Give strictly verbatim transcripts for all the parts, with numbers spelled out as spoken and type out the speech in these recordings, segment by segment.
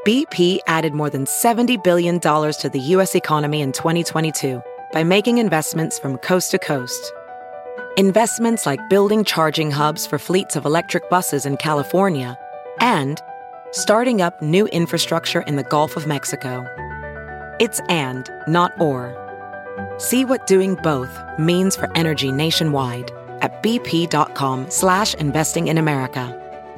B P added more than seventy billion dollars to the U S economy in twenty twenty-two by making investments from coast to coast. Investments like building charging hubs for fleets of electric buses in California and starting up new infrastructure in the Gulf of Mexico. It's and, not or. See what doing both means for energy nationwide at bp.com slash investing in America.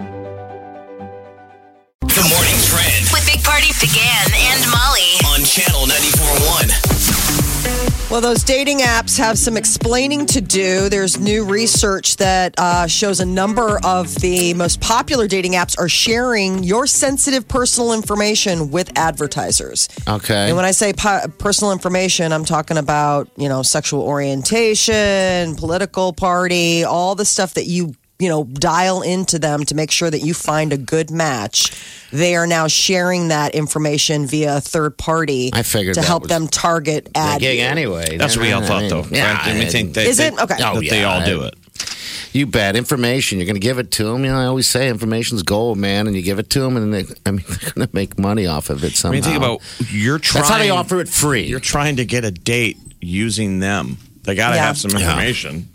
The Morning Trend with Big Party began and Molly on Channel ninety-four point one. Well, those dating apps have some explaining to do. There's new research that uh, shows a number of the most popular dating apps are sharing your sensitive personal information with advertisers. Okay. And when I say po- personal information, I'm talking about, you know, sexual orientation, political party, all the stuff that you you know, dial into them to make sure that you find a good match. They are now sharing that information via a third party I figured to that help was them target ad. gig anyway. That's what we all thought, though. Yeah, I, mean, think that, Is they, it? Okay. that Oh, they yeah. all do it. You bet. Information. You're going to give it to them. You know, I always say information's gold, man. And you give it to them, and they, I mean, they're going to make money off of it somehow. I mean, think about you're trying. That's how they offer it free. You're trying to get a date using them. They got to Yeah. have some information.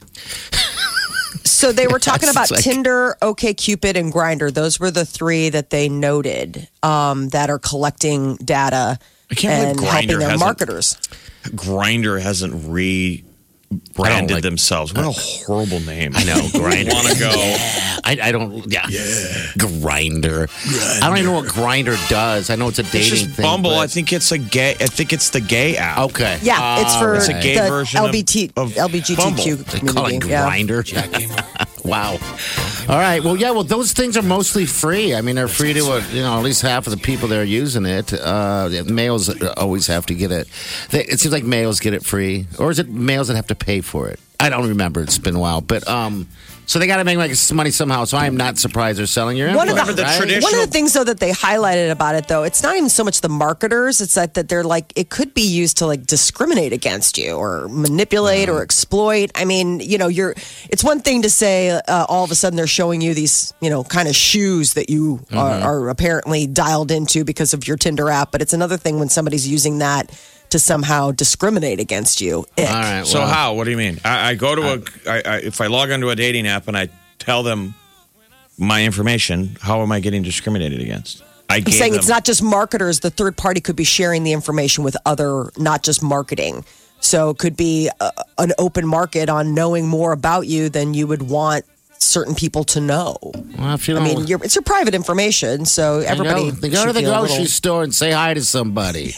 So they were talking about It's like- Tinder, OkCupid, and Grindr. Those were the three that they noted um, that are collecting data I can't and believe helping Grindr their hasn't- marketers. Grinder hasn't rebranded like- themselves. What a horrible name! I know, Grindr. Want to go? I, I don't. Yeah. Grinder. I don't even know what Grinder does. I know it's a dating It's just thing. Bumble. but- I think it's a gay. I think it's the gay app. Okay. Yeah, it's for It's a gay the version of- L B T, of L G B T Q Bumble. They call it community. Yeah. Grinder. Wow. All right. Well, yeah. Well, those things are mostly free. I mean, they're free to uh, you know at least half of the people that are using it. Uh, males always have to get it. They, it seems like males get it free, or is it males that have to pay for it? I don't remember. It's been a while, but um, so they got to make like some money somehow. So I am not surprised they're selling your One of, info, the, the right? tradition- one of the things, though, that they highlighted about it, though, it's not even so much the marketers. It's that, that they're like, it could be used to like discriminate against you or manipulate or exploit. I mean, you know, you're, it's one thing to say uh, all of a sudden they're showing you these, you know, kind of shoes that you are, are apparently dialed into because of your Tinder app. But it's another thing when somebody's using that to somehow discriminate against you. Ick. All right. So well, how? What do you mean? I, I go to a. I, I, if I log onto a dating app and I tell them my information, how am I getting discriminated against? I I'm gave saying them, it's not just marketers. The third party could be sharing the information with other, not just marketing. So it could be a, an open market on knowing more about you than you would want certain people to know. Well, if you I don't, mean, you're, it's your private information, so everybody Go, they go should to the feel a grocery little- store and say hi to somebody.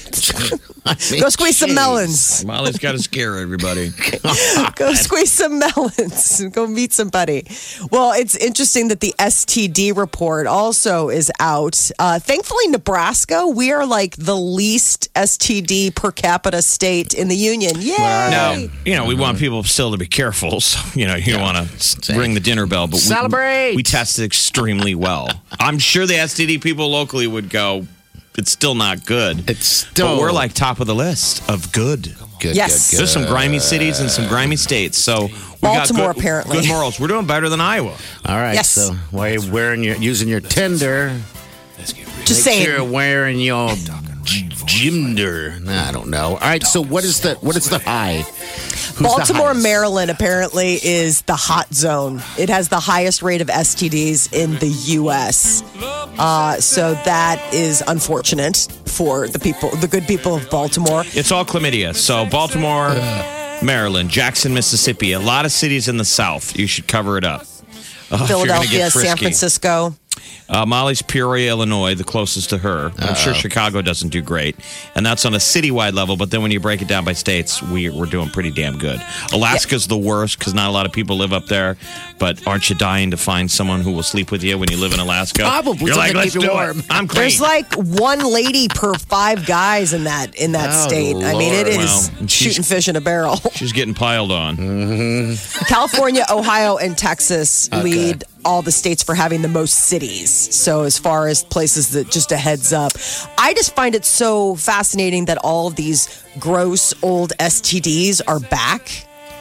I mean, Go squeeze some geez. melons. Molly's got to scare everybody. Go squeeze some melons. Go meet somebody. Well, it's interesting that the S T D report also is out. Uh, thankfully, Nebraska, we are like the least S T D per capita state in the union. Yay! Now, you know, we want people still to be careful. So, you know, you don't want to ring the dinner bell, but Celebrate! we, we tested extremely well. I'm sure the S T D people locally would go, it's still not good. It's still But we're like top of the list of good. good. Yes. Good, There's good. some grimy cities and some grimy states. So we Baltimore, got good, apparently. good morals. We're doing better than Iowa. All right. Yes. So while you're wearing your using your Tinder, Just make saying. sure you're wearing your g- gender. Nah, I don't know. All right. So what is the what is the high? Who's the Baltimore, highest? Maryland apparently is the hot zone. It has the highest rate of S T Ds in the U S. Uh, so that is unfortunate for the people, the good people of Baltimore. It's all chlamydia. So Baltimore, Maryland, Jackson, Mississippi, a lot of cities in the South. You should cover it up. Uh, if you're gonna Philadelphia, get San frisky. Francisco. Uh, Molly's Peoria, Illinois, the closest to her. I'm sure Chicago doesn't do great. And that's on a citywide level. But then when you break it down by states, we, we're doing pretty damn good. Alaska's the worst because not a lot of people live up there. But aren't you dying to find someone who will sleep with you when you live in Alaska? Probably You're like, something to let's keep do you warm." it. I'm clean. There's like one lady per five guys in that in that Oh, state. I mean, it Lord. is Well, and she's- shooting fish in a barrel. She's getting piled on. California, Ohio, and Texas lead all the states for having the most cities. So as far as places that, just a heads up, I just find it so fascinating that all of these gross old S T Ds are back.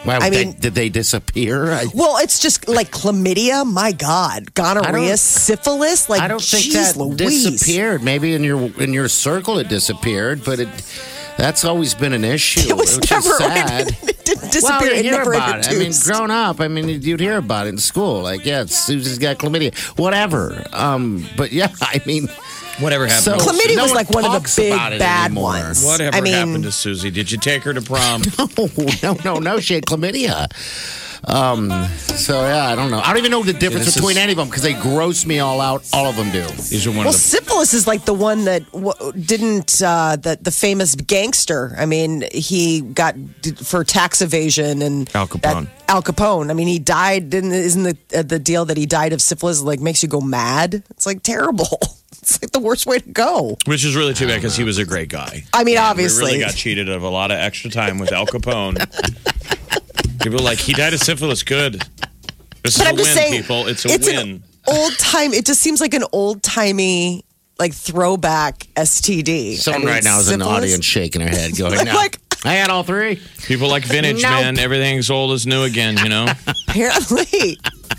Wow, I they- mean- did they disappear? I, Well, it's just like chlamydia. My God, I gonorrhea, don't- syphilis. Like, I don't think geez that Louise. disappeared. Maybe in your in your circle it disappeared, but it that's always been an issue. It was which never. is sad. It didn't Well, disappear. you it hear never about it. I mean, introduced. growing up, I mean, you'd hear about it in school. Like, yeah, Susie's got chlamydia, whatever. Um, but yeah, I mean, Whatever happened. So- to Chlamydia no was one like one of the talks big about it bad anymore. ones. Whatever I mean, happened to Susie? Did you take her to prom? oh, no, no, no, she had chlamydia. Um, so yeah, I don't know. I don't even know the difference this between is- any of them because they gross me all out. All of them do. These are one Well, of the. syphilis is like the one that w- didn't uh, the the famous gangster. I mean, he got d- for tax evasion and Al Capone. that- Al Capone. I mean, he died. Didn't isn't the uh, the deal that he died of syphilis like makes you go mad? It's like terrible. It's like the worst way to go. Which is really too bad because he was a great guy. I mean, And obviously. we really got cheated of a lot of extra time with Al Capone. People are like, he died of syphilis. Good. This But is I'm a just win, saying, people. It's a it's win. an old time. It just seems like an old timey like throwback S T D. Someone I mean, right now is in the syphilis- audience shaking her head, going, "No, Like- I had all three." People like vintage, Nope. man. Everything's old as new again, you know? Apparently.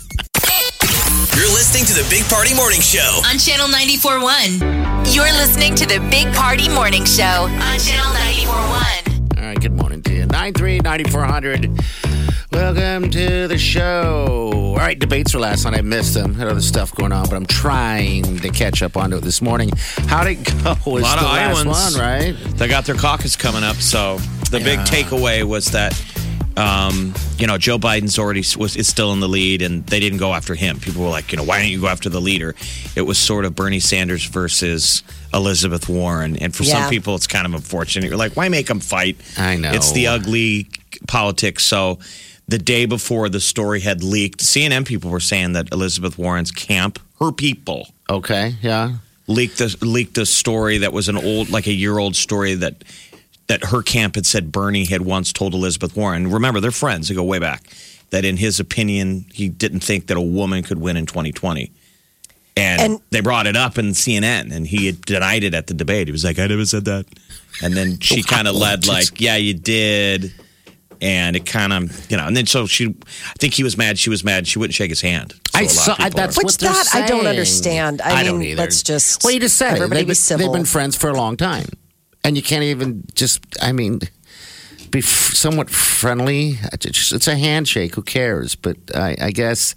You're listening to the Big Party Morning Show. On Channel ninety-four point one. You're listening to the Big Party Morning Show on Channel ninety-four point one. All right, good morning to you. nine three nine four hundred. Welcome to the show. All right, debates were last night. I missed them. Had other stuff going on, but I'm trying to catch up onto it this morning. How'd it go? A Was lot the of last Iowans. one, right? They got their caucus coming up. So the big takeaway was that, um, you know, Joe Biden's already was is still in the lead, and they didn't go after him. People were like, you know, why don't you go after the leader? It was sort of Bernie Sanders versus Elizabeth Warren, and for Yeah. some people, it's kind of unfortunate. You're like, why make them fight? I know. It's the ugly politics. So the day before the story had leaked, C N N people were saying that Elizabeth Warren's camp, her people, Okay, yeah. leaked the leaked a story that was an old, like a year old story that that her camp had said Bernie had once told Elizabeth Warren. Remember, they're friends. They go way back. That in his opinion, he didn't think that a woman could win in twenty twenty. And, And- they brought it up in C N N, and he had denied it at the debate. He was like, I never said that. And then she kind of led like, yeah, you did. And it kind of, you know, and then so she, I think he was mad. She was mad. She wouldn't shake his hand. So I a lot saw. of I, people that's are. Which what they're that I don't saying. understand. I don't mean, either. let's just- Well, you just said it. everybody They've, be been- civil. they've been friends for a long time, and you can't even just. I mean, be f- somewhat friendly. It's it's a handshake. Who cares? But I, I guess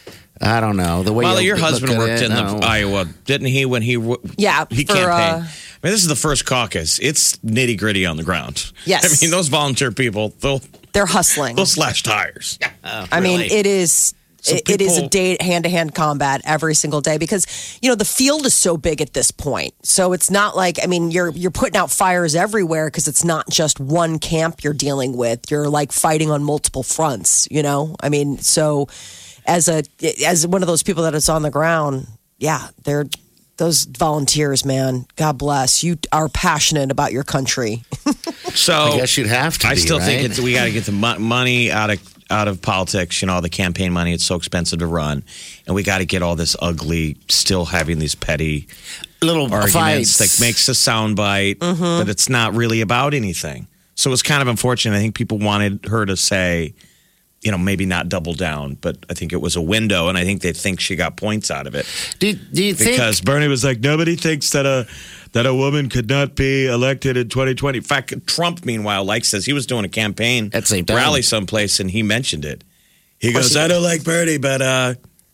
I don't know the way. Molly, you your look husband at worked it, in the no. Iowa, didn't he? When he w- Yeah, he for, campaigned. uh, I mean, this is the first caucus. It's nitty gritty on the ground. Yes. I mean, those volunteer people, they'll They're hustling. they'll slash tires. I mean, it is. So it- it is a people- day hand to hand combat every single day because you know the field is so big at this point. So it's not like I mean you're you're putting out fires everywhere because it's not just one camp you're dealing with. You're like fighting on multiple fronts. You know, I mean, so as a as one of those people that is on the ground, yeah, they're those volunteers, man. God bless you. Are passionate about your country. So I guess you'd have to. I be, still right? think it's, we got to get the mo- money out of out of politics. You know, the campaign money. It's so expensive to run, and we got to get all this ugly. Still having these petty little arguments fights. that makes a soundbite, but it's not really about anything. So it's kind of unfortunate. I think people wanted her to say, you know, maybe not double down, but I think it was a window, and I think they think she got points out of it Do, do you think? because Bernie was like, nobody thinks that a that a woman could not be elected in twenty twenty. In fact, Trump, meanwhile, like says he was doing a campaign At the same time. rally someplace, and he mentioned it. He goes, I don't like Bernie, but uh,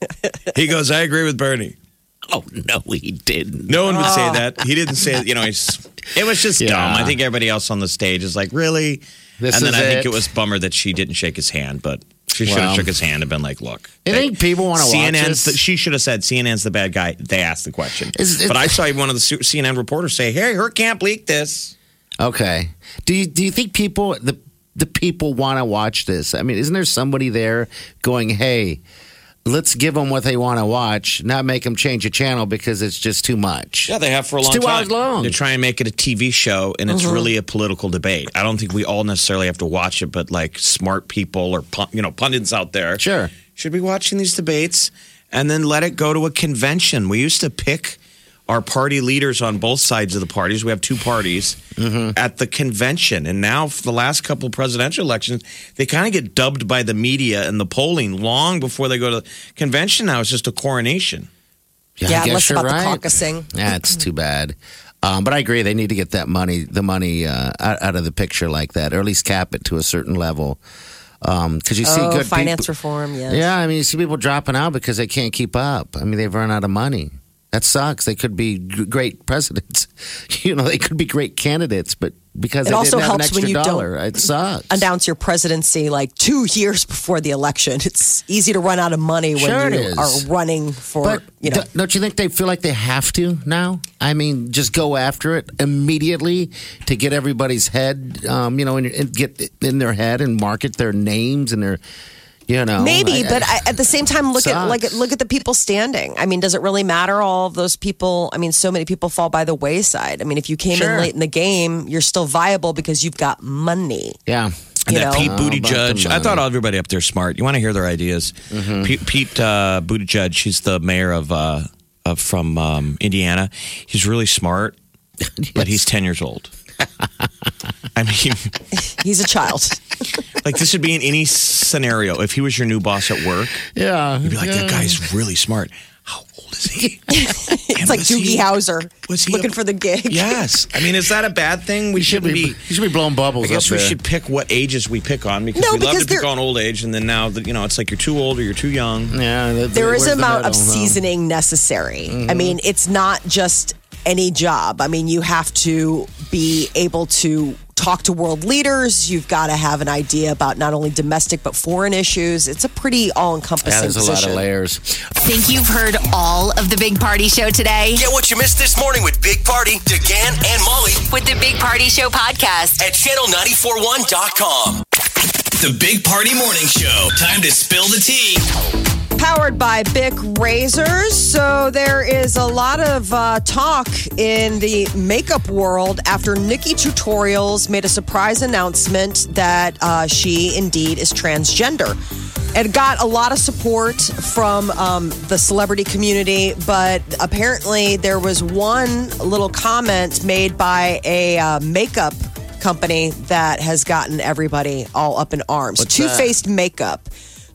he goes, I agree with Bernie. Oh no, he didn't. No one would say that. He didn't say it. You know, he's, it was just Yeah. dumb. I think everybody else on the stage is like, really? This and then is I think it? it was bummer that she didn't shake his hand, but she should Wow. have shook his hand and been like, look. You think people want to watch C N N's this? the, she should have said C N N's the bad guy. They asked the question. Is it- but I saw one of the C N N reporters say, hey, her camp leaked this. Okay. Do you do you think people the the people want to watch this? I mean, isn't there somebody there going, "Hey, let's give them what they want to watch, not make them change a channel because it's just too much." Yeah, they have for a It's long two time. hours long. They try and make it a T V show, and it's really a political debate. I don't think we all necessarily have to watch it, but like smart people or pun- you know pundits out there Sure. should be watching these debates and then let it go to a convention. We used to pick our party leaders on both sides of the parties. We have two parties mm-hmm. at the convention. And now for the last couple of presidential elections, they kind of get dubbed by the media and the polling long before they go to the convention. Now it's just a coronation. Yeah, yeah I guess less you're about right. the caucusing. Yeah, it's too bad. Um, but I agree, they need to get that money, the money uh, out, out of the picture like that, or at least cap it to a certain level. Because um, you see oh, good finance people, reform, yes. Yeah, I mean, you see people dropping out because they can't keep up. I mean, they've run out of money. That sucks. They could be g- great presidents. You know, they could be great candidates, but because it they also didn't have an helps extra when you dollar, don't it sucks. announce your presidency like two years before the election. It's easy to run out of money when Sure it you is. are running for, But you know. d- don't you think they feel like they have to now? I mean, just go after it immediately to get everybody's head, um, you know, and, and get in their head and market their names and their, you know. Maybe, I- but I, at the same time, look at Sucks. like look at the people standing. I mean, does it really matter? All of those people. I mean, so many people fall by the wayside. I mean, if you came Sure. in late in the game, you're still viable because you've got money. Yeah. And You that know? Pete Oh, about Buttigieg, the I thought money. everybody up there smart. You want to hear their ideas? Mm-hmm. Pete, Pete uh, Buttigieg, he's the mayor of, uh, of from um, Indiana. He's really smart, but he's ten years old. I mean, He's a child. like this would be in any scenario. If he was your new boss at work, Yeah. you'd be like, yeah. that guy's really smart. How old is he? It's like Doogie Howser was he looking a- for the gig. Yes. I mean, is that a bad thing? We Should shouldn't be, be. you should be blowing bubbles I guess up we there. should pick what ages we pick on because No, we love because to pick they're- on old age, and then now that you know it's like you're too old or you're too young. Yeah, the- There is where's an the amount of middle, though? seasoning necessary. I mean, it's not just any job. I mean, you have to be able to talk to world leaders. You've got to have an idea about not only domestic but foreign issues. It's a pretty Yeah, all-encompassing there's a lot position. of layers. Think you've heard all of the Big Party Show today? Get what you missed this morning with Big Party, DeGan, and Molly With the Big Party Show podcast. at channel nine four one dot com. The Big Party Morning Show. Time to spill the tea. Powered by Bic Razors. So there is a lot of uh, talk in the makeup world after Nikki Tutorials made a surprise announcement that uh, she indeed is transgender. It got a lot of support from um, the celebrity community, but apparently there was one little comment made by a uh, makeup company that has gotten everybody all up in arms. What's Too that? Faced Makeup.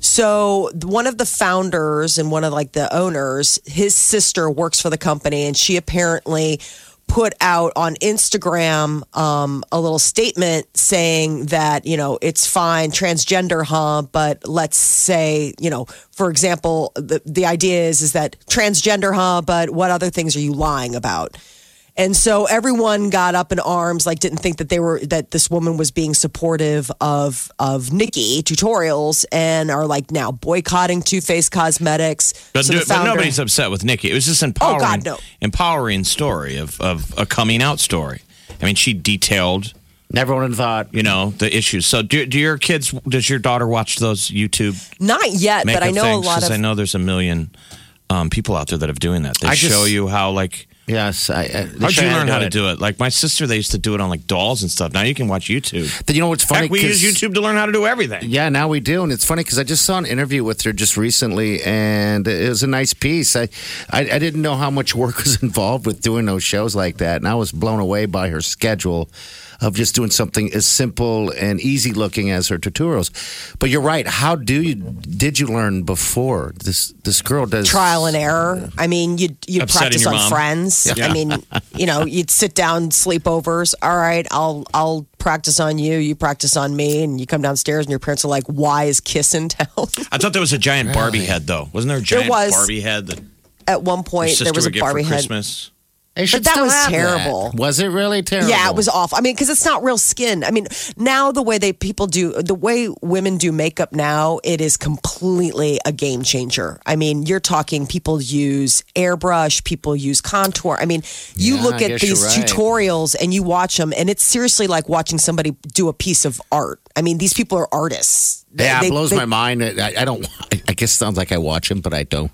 So one of the founders and one of like the owners, his sister works for the company, and she apparently put out on Instagram um, a little statement saying that, you know, it's fine, transgender, huh? But let's say, you know, for example, the, the idea is, is that transgender, huh? But what other things are you lying about? And so everyone got up in arms, like didn't think that they were that this woman was being supportive of of Nikki Tutorials, and are like now boycotting Too Faced Cosmetics. But, So do- the but founder- nobody's upset with Nikki. It was just empowering, Oh, God, no. empowering story of, of a coming out story. I mean, she detailed, Never would have thought. you know, the issues. So, do, do your kids? Does your daughter watch those YouTube Not yet, makeup but I know things? a lot 'Cause of. I know there's a million um, people out there that are doing that. They I just- show you how like. Yes. I, I, they How'd should you have learn how to it. do it? Like my sister, they used to do it on like dolls and stuff. Now you can watch YouTube. Then you know what's funny? Heck, we 'Cause- use YouTube to learn how to do everything. Yeah, now we do, and it's funny because I just saw an interview with her just recently, and it was a nice piece. I, I, I didn't know how much work was involved with doing those shows like that, and I was blown away by her schedule of just doing something as simple and easy looking as her tutorials. But you're right. How do you did you learn before this? This girl does Trial and error. I mean, you'd, you'd Upsetting practice your on mom. friends. I mean, you know, you'd sit down, sleepovers. All right, I'll I'll practice on you. You practice on me, and you come downstairs, and your parents are like, "Why is kiss and tell?" I thought there was a giant Barbie head though. Wasn't there a giant was. Barbie head that At one your point, sister there was a would get Barbie for head. Christmas? They should But that still was have terrible. Was it really terrible? Yeah, it was awful. I mean, because it's not real skin. I mean, now the way they people do, the way women do makeup now, it is completely a game changer. I mean, you're talking people use airbrush, people use contour. I mean, you Yeah, look I at guess these you're right. tutorials and you watch them, and it's seriously like watching somebody do a piece of art. I mean, these people are artists. Yeah, They- it blows they- my mind. I, I don't. I guess it sounds like I watch them, but I don't.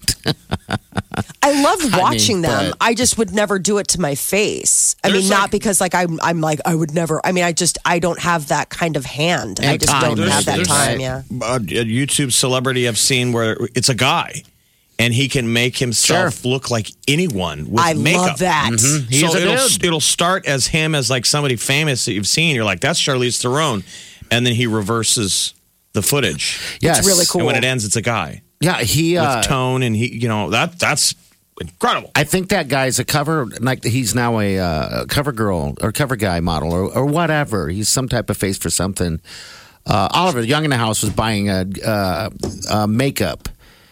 I love I watching mean, them. but- I just would never do it to my face. I There's mean, not like- because like I'm, I'm like I would never. I mean, I just I don't have that kind of hand. I And just time, don't have that maybe, time. right? Yeah. A YouTube celebrity I've seen where it's a guy. and he can make himself Sure. look like anyone with I makeup. love that. Mm-hmm. He's so a it'll, dude. it'll start as him as like somebody famous that you've seen. You're like, that's Charlize Theron. And then he reverses the footage. Yes. It's really cool. And when it ends, it's a guy Yeah, he. with Uh, tone. And he, you know, that that's incredible. I think that guy's a cover, like he's now a uh, cover girl or cover guy model or, or whatever. He's some type of face for something. Uh, Oliver, Young in the House, was buying a, uh, uh, makeup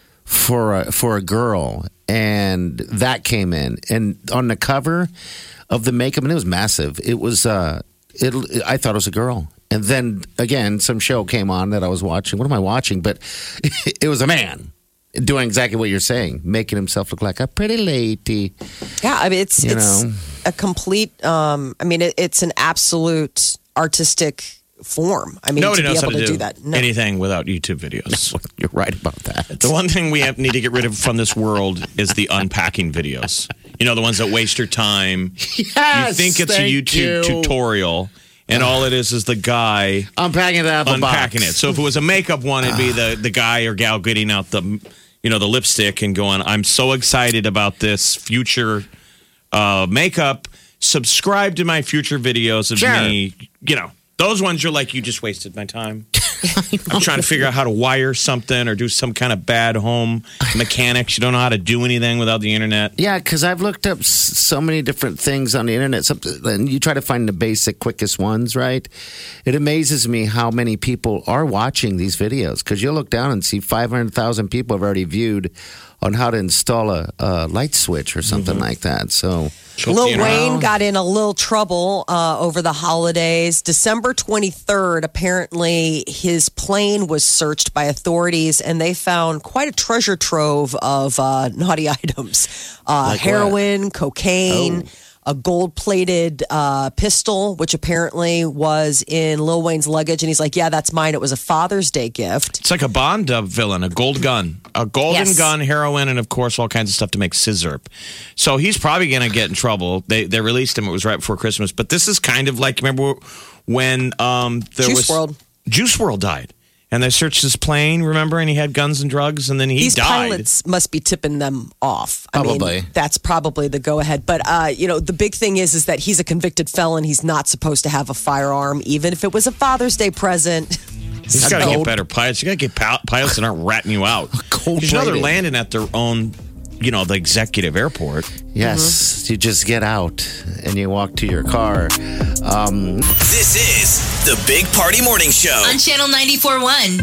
for a, for a girl, and that came in. And on the cover of the makeup, and it was massive. It was. Uh, it. I thought it was a girl. And then again, some show came on that I was watching. What am I watching? But it was a man. Doing exactly what you're saying, making himself look like a pretty lady. Yeah, I mean, it's You it's know. a complete. Um, I mean, it, it's an absolute artistic form. I mean, Nobody to be knows how able to to do, do that. No. anything without YouTube videos. You're right about that. The one thing we have, need to get rid of from this world is the unpacking videos. You know, the ones that waste your time. Yes, you think it's a thank YouTube you. tutorial, and all it is is the guy Unpacking it out of a unpacking box. it. So if it was a makeup one, it'd be the, the guy or gal getting out the, you know, the lipstick and going, I'm so excited about this future uh, makeup. Subscribe to my future videos of Sure. me. You know, those ones you're like, you just wasted my time. I'm trying to figure out how to wire something or do some kind of bad home mechanics. You don't know how to do anything without the internet. Yeah, because I've looked up s- so many different things on the internet, something, and you try to find the basic, quickest ones, right? It amazes me how many people are watching these videos, because you'll look down and see five hundred thousand people have already viewed on how to install a, a light switch or something like that. So, Lil Wayne got in a little trouble uh, over the holidays. December twenty-third, apparently his plane was searched by authorities and they found quite a treasure trove of uh, naughty items. Uh, Like heroin, cocaine, Oh. a gold-plated uh, pistol, which apparently was in Lil Wayne's luggage. And he's like, yeah, that's mine. It was a Father's Day gift. It's like a Bond uh, villain, a gold gun, a golden Yes. gun, heroin, and of course all kinds of stuff to make scissor. So he's probably going to get in trouble. They they released him. It was right before Christmas. But this is kind of like, remember when um, there Juice was world. Juice world died, and they searched his plane. Remember, and he had guns and drugs, and then he These died. pilots must be tipping them off. I Probably. mean, that's probably the go-ahead. But uh, you know, the big thing is, is that he's a convicted felon. He's not supposed to have a firearm, even if it was a Father's Day present. He's got to So- get better pilots. You got to get pil- pilots that aren't ratting you out. Cold-blooded. You know they're landing at their own, you know, the executive airport. yes, you just get out and you walk to your car. Um, This is the Big Party Morning Show. On Channel ninety-four point one.